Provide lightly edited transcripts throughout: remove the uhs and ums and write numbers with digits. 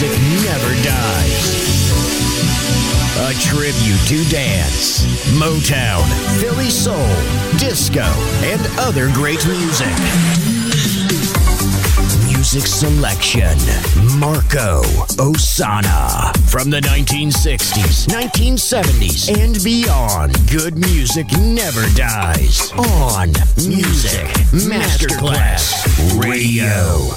music never dies. A tribute to dance, Motown, Philly soul, disco, and other great music. Music selection, Marco Ossanna. From the 1960s, 1970s, and beyond, good music never dies. On Music Masterclass Radio.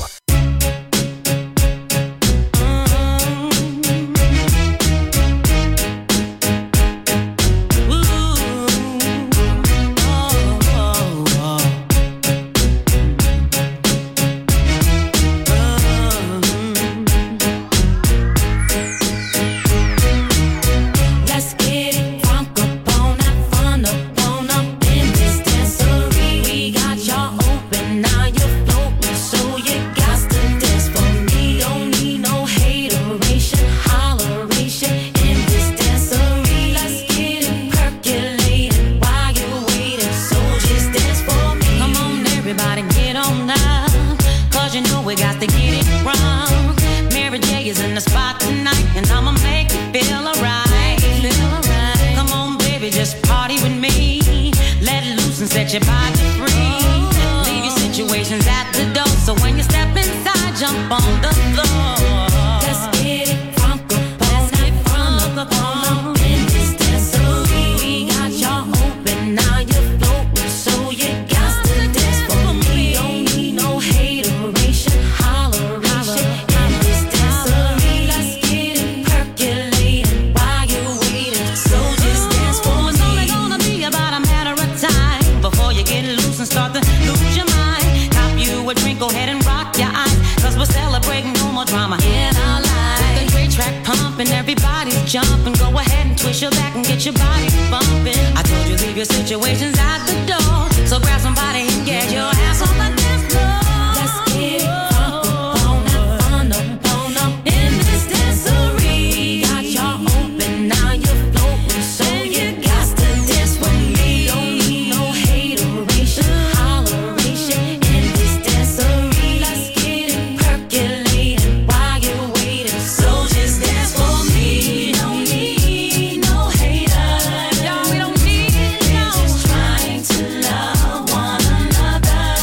Trying to love one another.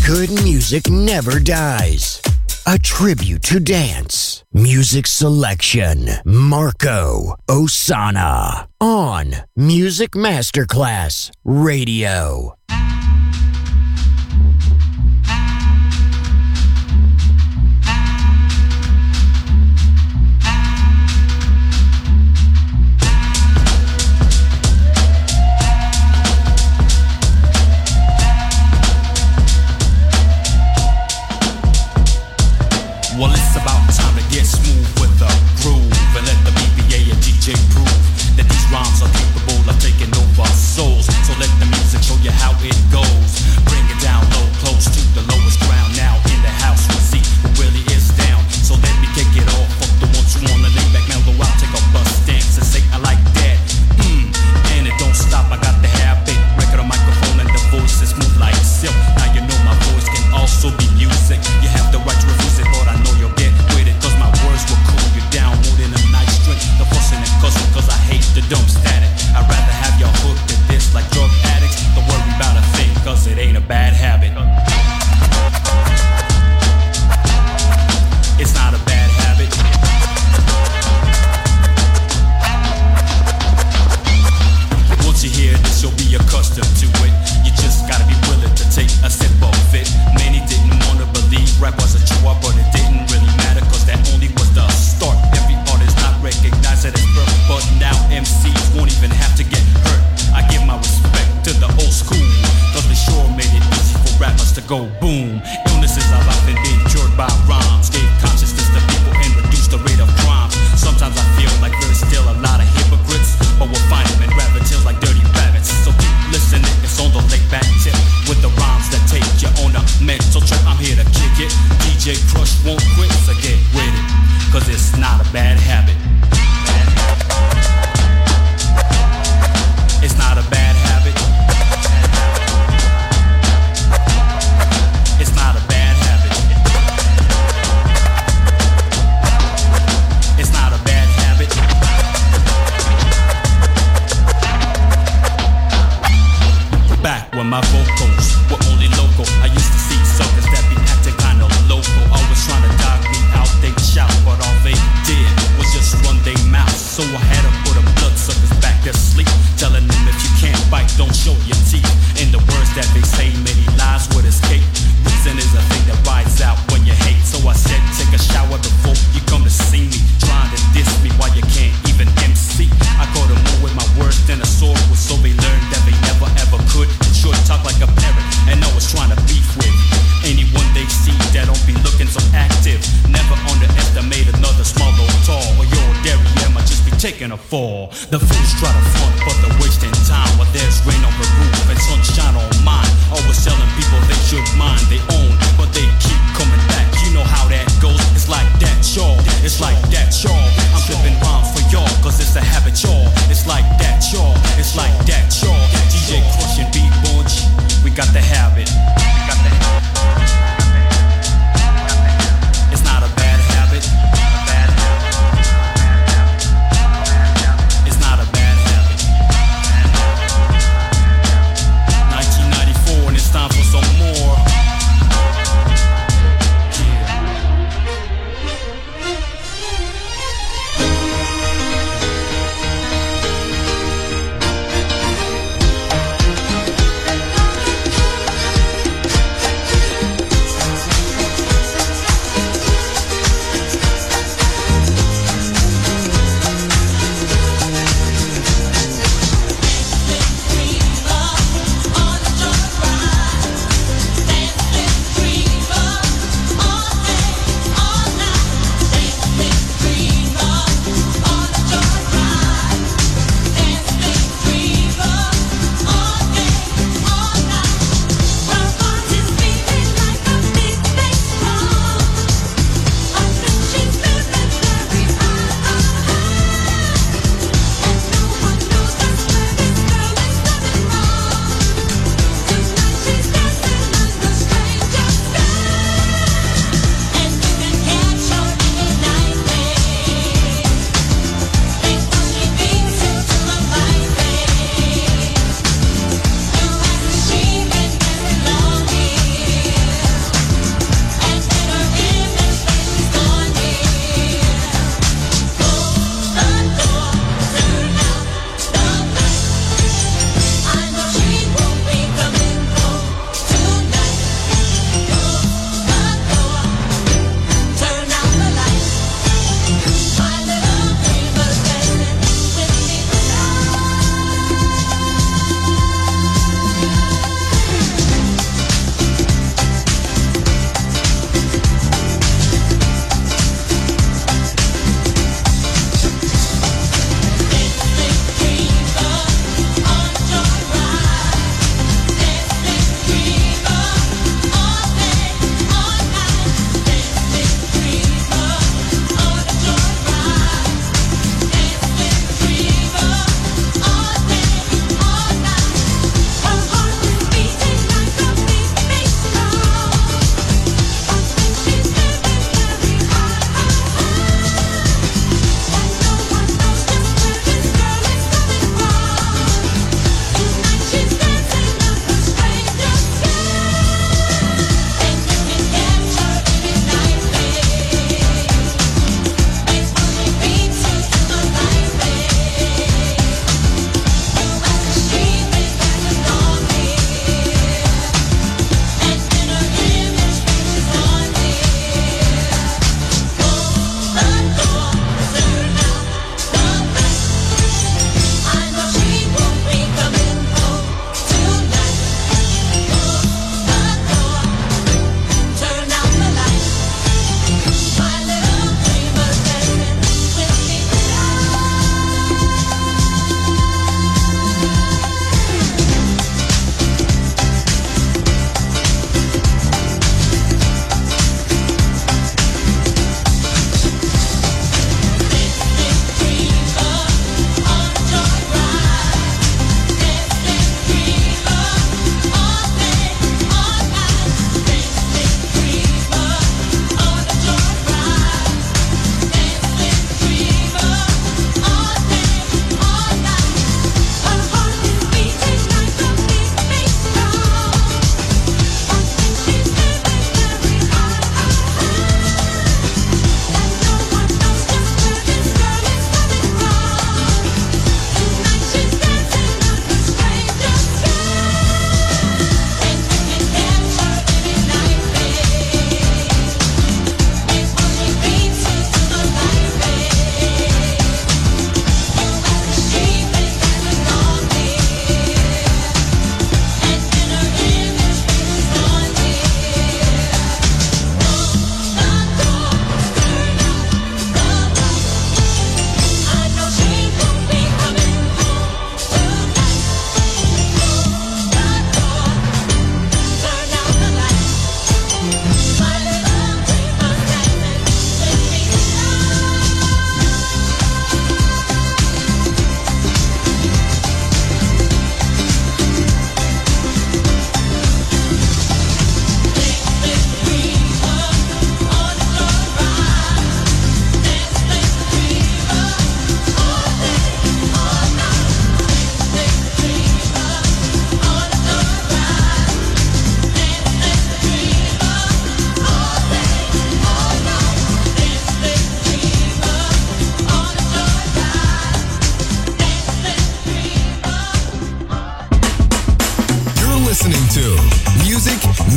good music never dies. A tribute to dance. Music selection. Marco Ossanna. On Music Masterclass Radio. Well, it's about time to get smooth with the groove and let the BBA and DJ prove that these rhymes are capable of taking over souls. So let the music show you how it goes. Bring it down low, close to the lowest ground. Now in the house we see who really is down. So let me kick it off. Fuck the ones who wanna lay back, mellow out, take a bus stance and say I like that. And it don't stop. I got the habit. Record a microphone and the voice is smooth like silk. Now you know my voice can also be music. You have the right to refuse it, but I know you'll get with it. Cause my words will cool you down more than a nice drink. The fussing and cussing cause I hate the dumb static. I'd rather have y'all hooked at this like drug addicts. Don't worry about a thing cause it ain't a bad habit. It's not a bad habit. Once you hear this you'll be accustomed to it. You just gotta be willing to take a sip of it. Many didn't wanna believe rap was a chore, but it didn't really matter cause that only was the start. Every artist not recognized it as birth, but now MCs won't even have to get hurt. I give my respect to the old school cause they sure made it easy for rappers to go boom. Illnesses have often been cured by rhymes, gave consciousness to people and reduced the rate of crime. Sometimes I feel like there's still a lot of hypocrites, but we'll find them and grab their tails like dirty rabbits. So keep listening, it's on the laid back tip with the rhymes that take you on a mental trip. I'm here to kick it, DJ Crush won't quit, so get with it, cause it's not a bad habit. It's not a bad habit. It's not a bad habit. It's not a bad habit. Back when my vocals were only local, I used to see suckers that be acting kinda local, always trying to dog me out, they shout, but all they did was just run their mouth. So I had to put them bloodsuckers back to sleep, telling them if you can't bite, don't show your teeth. In the words that they say, many lies would escape. Reason is a thing that rides out when you hate. So I said, take a shower before you come to see me. Trying to diss me while you can't even MC. I caught them more with my words than a sword was, so they learned that they never ever could. Short talk like a parrot, and always trying to beef with anyone they see that don't be looking so active. Never underestimate another small or tall, or your dairy might just be taking a fall. The fools try to front, but they're wasting time. While there's rain on the roof and sunshine on mine. Always telling people they should mind their own, but they keep coming back. You know how that goes. It's like that, y'all. It's like that, y'all. I'm flipping rhymes for y'all, cause it's a habit, y'all. It's like that, y'all. It's like that, y'all. DJ Crush and Beat Bunch, we got the habit. It's not a bad habit. It's not a bad habit. 1994 and it's time for some more.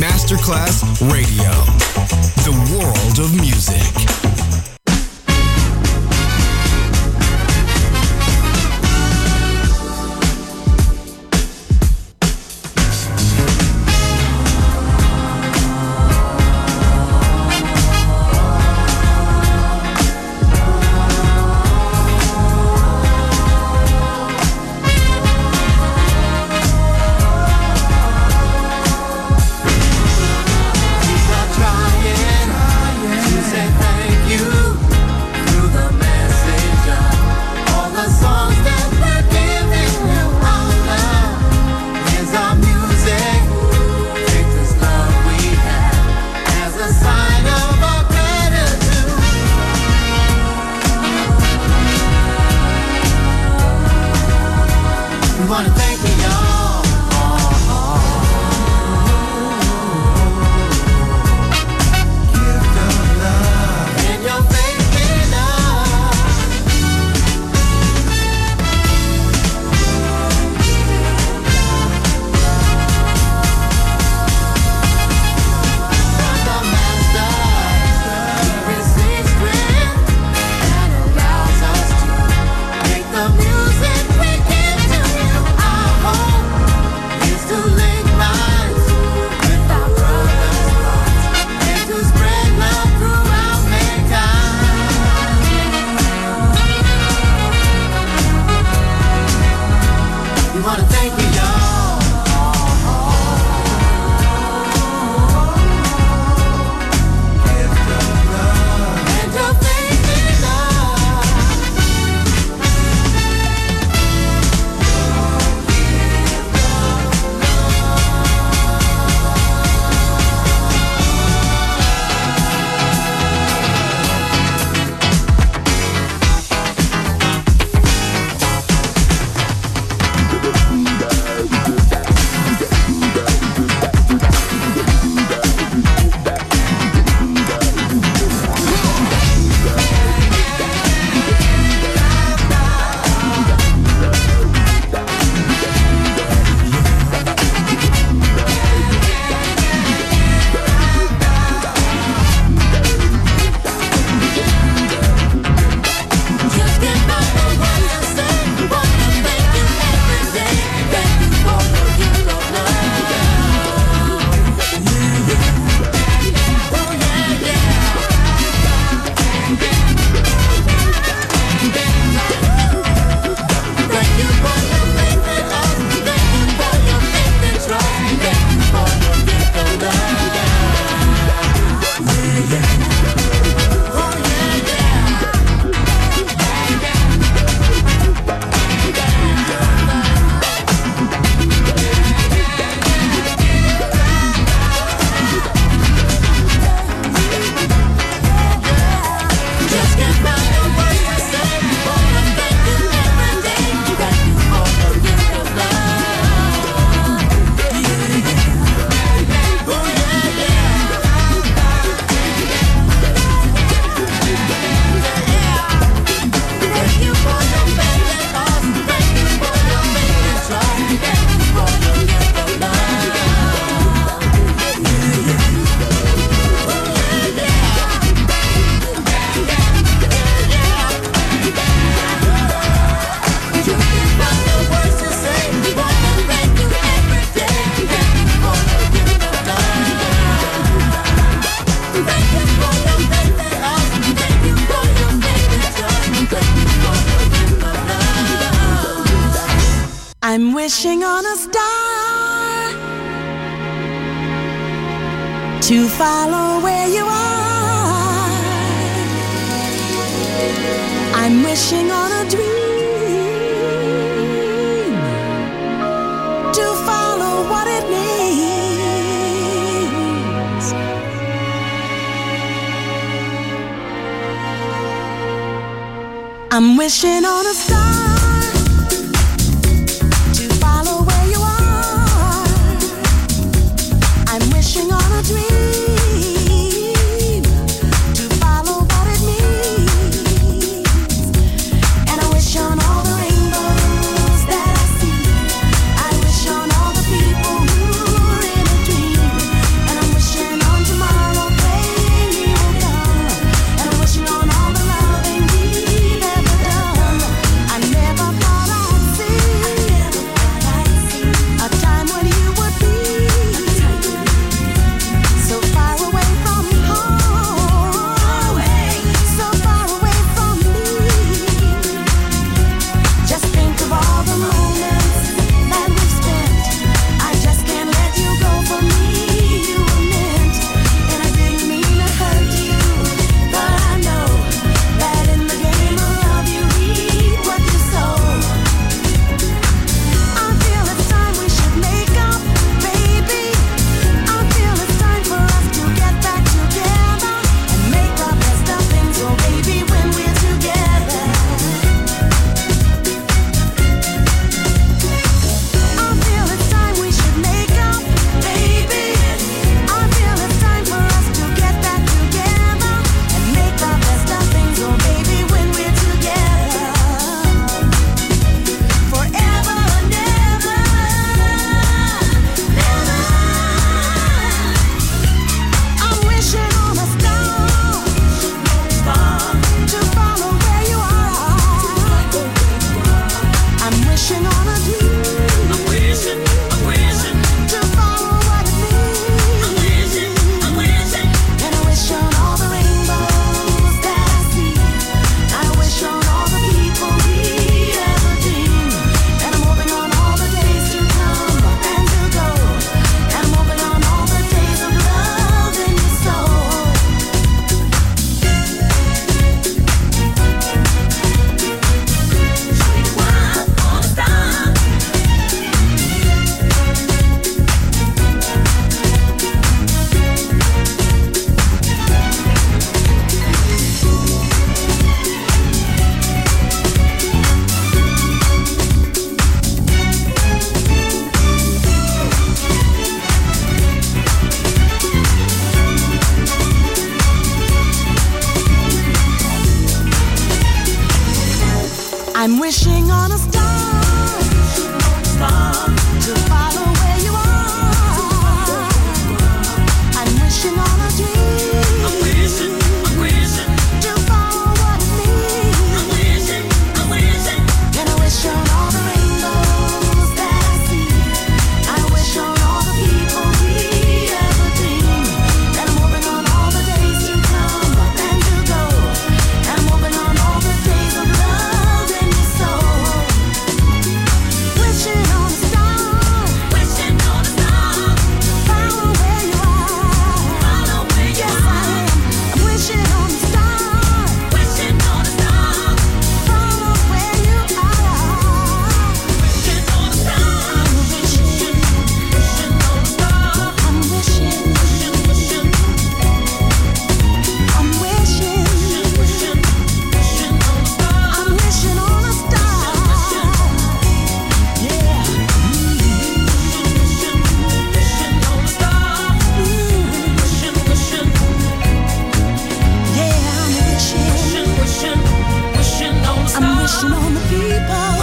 Masterclass Radio, the world of music. I'm wishing on a star to follow where you are. I'm wishing on a dream to follow what it means. I'm wishing on a star to follow where you are. I'm wishing on a dream to follow what it means. And I wish on all the rainbows that I see. I wish on all the people who are in a dream. And I I'm wishing on a star to follow where you are. I'm wishing on a dream. I'm wishing to follow what it means. I'm wishing, and I wish on all the rainbows that I see. I wish on all the people we ever dream. And I'm hoping on all the days to come and to go. And I'm hoping on all the days of love in your soul. Wishing on a star, follow where you are. Yes, I am. I'm wishing on a star, follow where you are. I'm wishing on a star. Yeah. I'm wishing on the people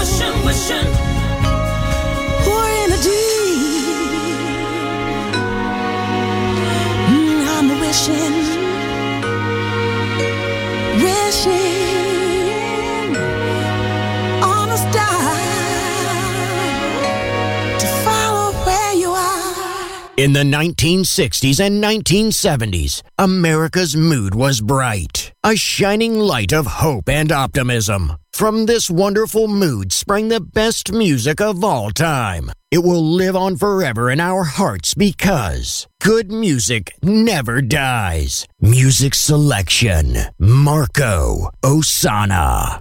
who are in a deep. I'm wishing on a star to follow where you are. In the 1960s and 1970s, America's mood was bright, a shining light of hope and optimism. From this wonderful mood sprang the best music of all time. It will live on forever in our hearts because good music never dies. Music selection, Marco Ossanna.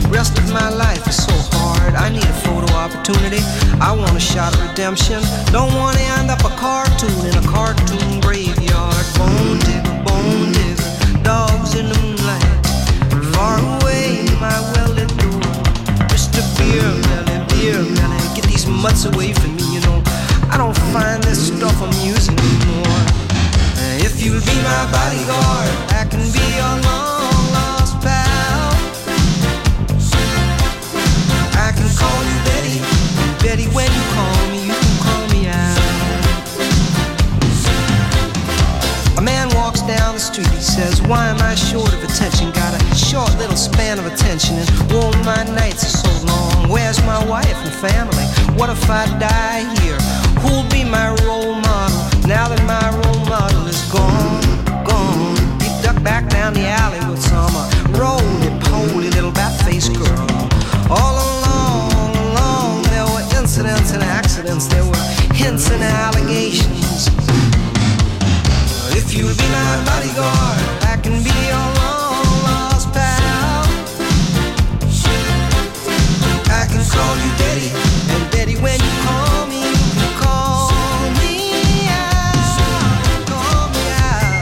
Rest of my life is so hard. I need a photo opportunity. I want a shot of redemption. Don't want to end up a cartoon in a cartoon graveyard. Bone digger, dogs in the moonlight. Far away, my well-lit door. Mr. Beer Melly, get these mutts away from me, you know. I don't find this stuff amusing anymore. If you'll be my bodyguard, I can be your long-lost pal. I can call you Betty, and Betty, when you call me, you can call me out. A man walks down the street, he says, why am I short of attention? Got a short little span of attention, and oh, my nights are so long. Where's my wife and family? What if I die here? Who'll be my role model now that my role model is gone? He ducked back down the alley with some roly-poly little bat-faced girl. All along, there were incidents and accidents. There were hints and allegations. If you'll be my bodyguard, I can be your long-lost pal. I can call you Betty, and Betty, when you call me, you can call me out, call me out.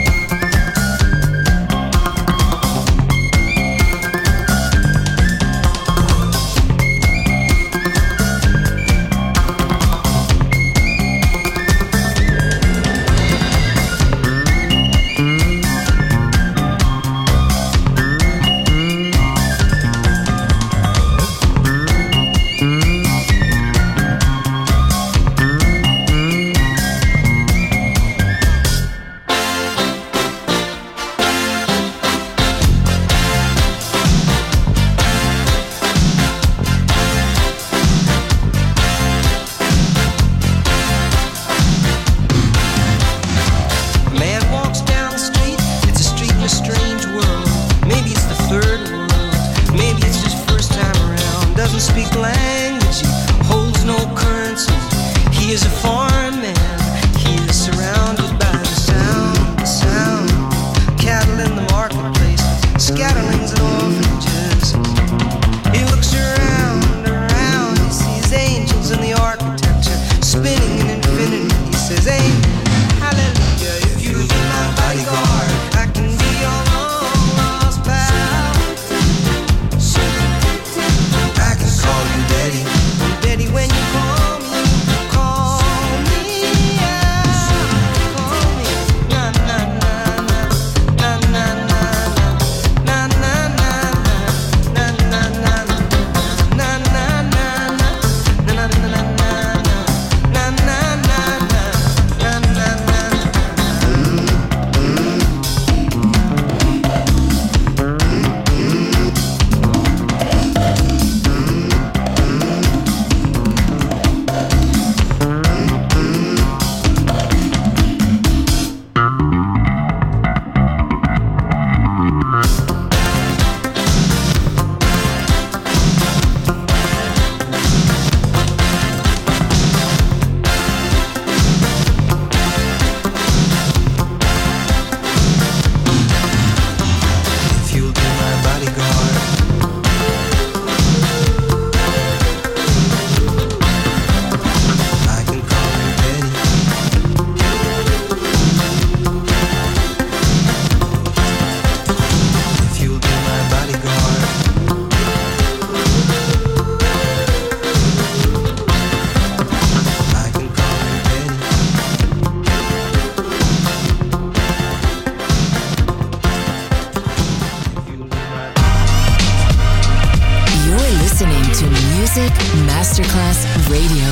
Masterclass Radio.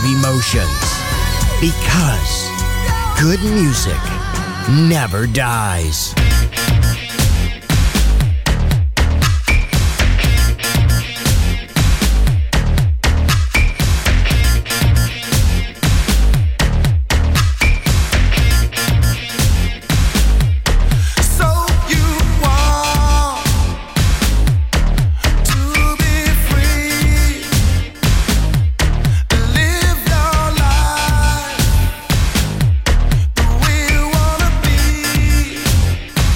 of emotions. Because good music never dies. The way you wanna be.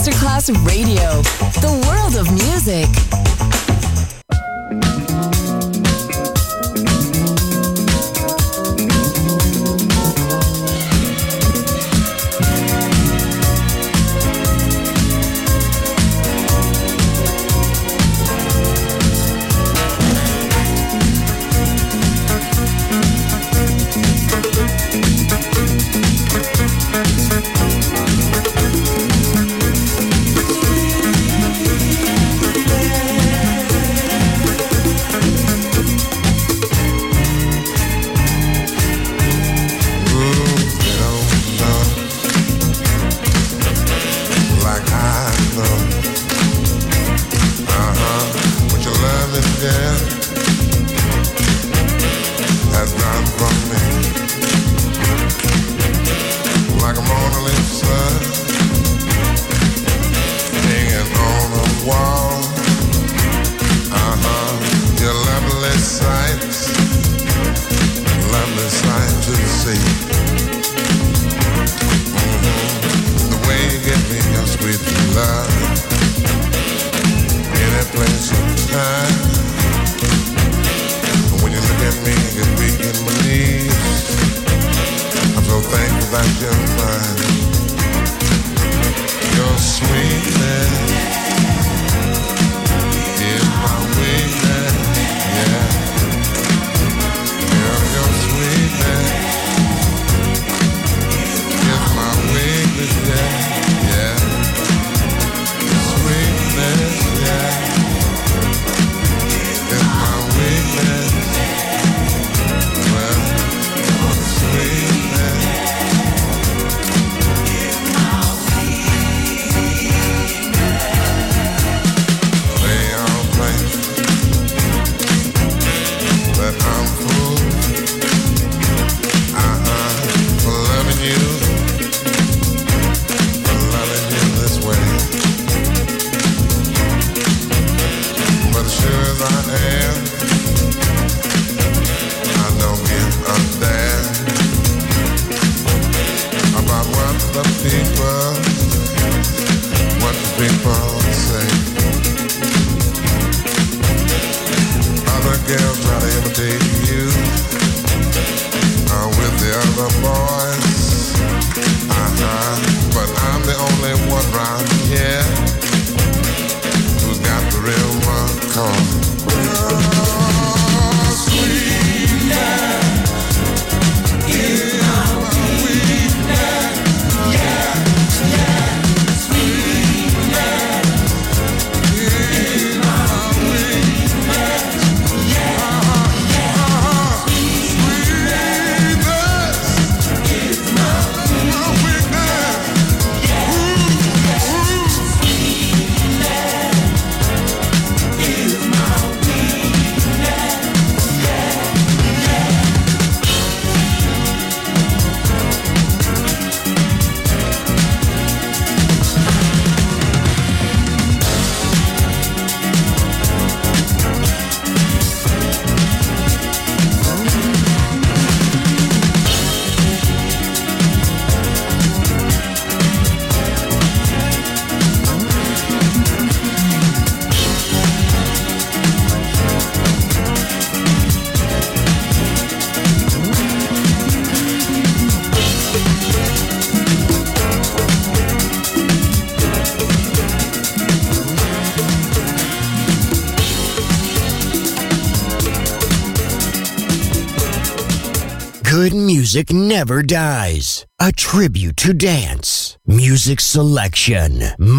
Masterclass Radio. The world of music. Good music never dies. A tribute to dance. Music selection.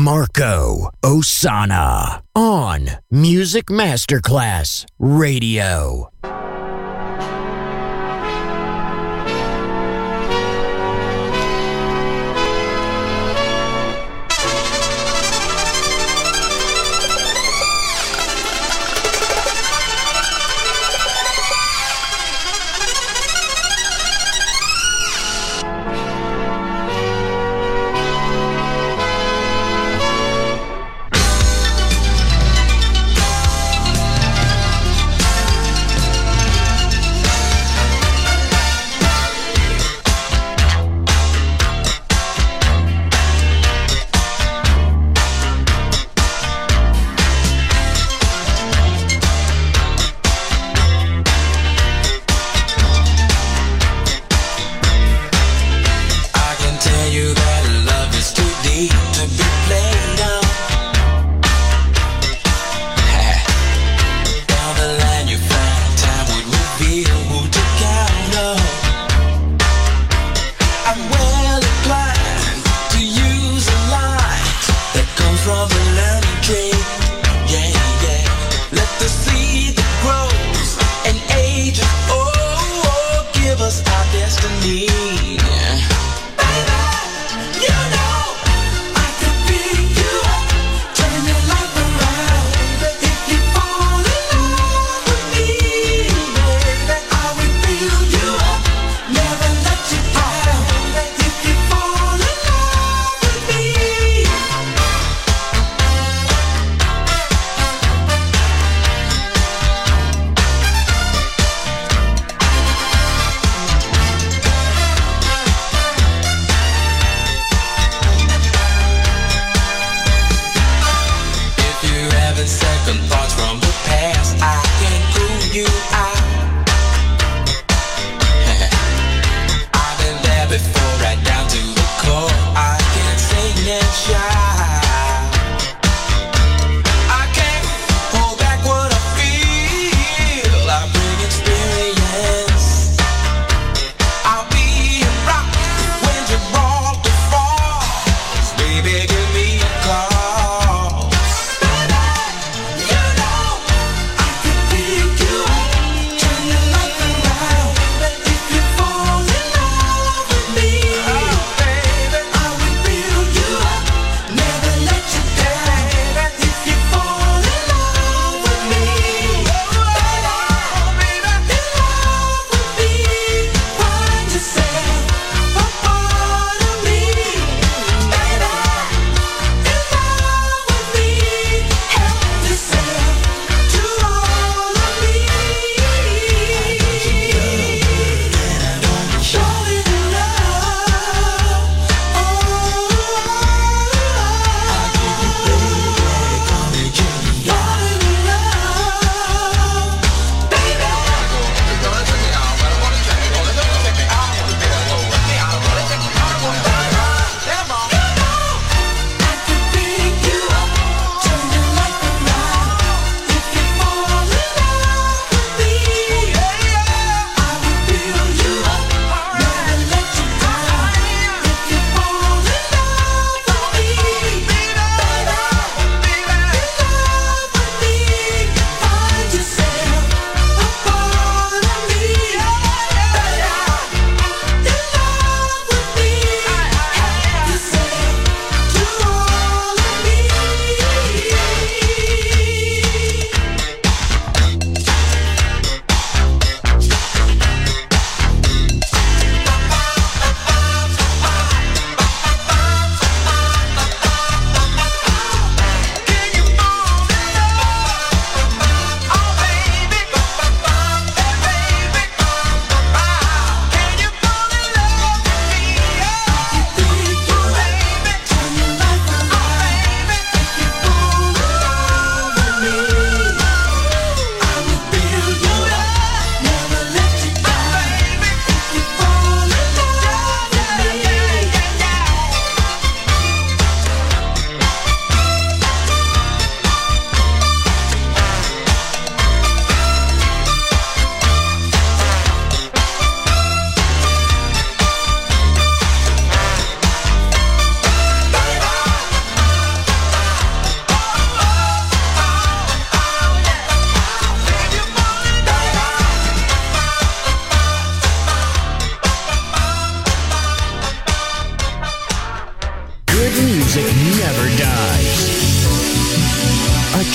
Marco Ossanna. On Music Masterclass Radio.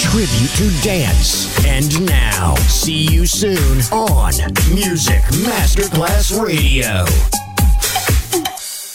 tribute to dance. And now, see you soon on Music Masterclass Radio.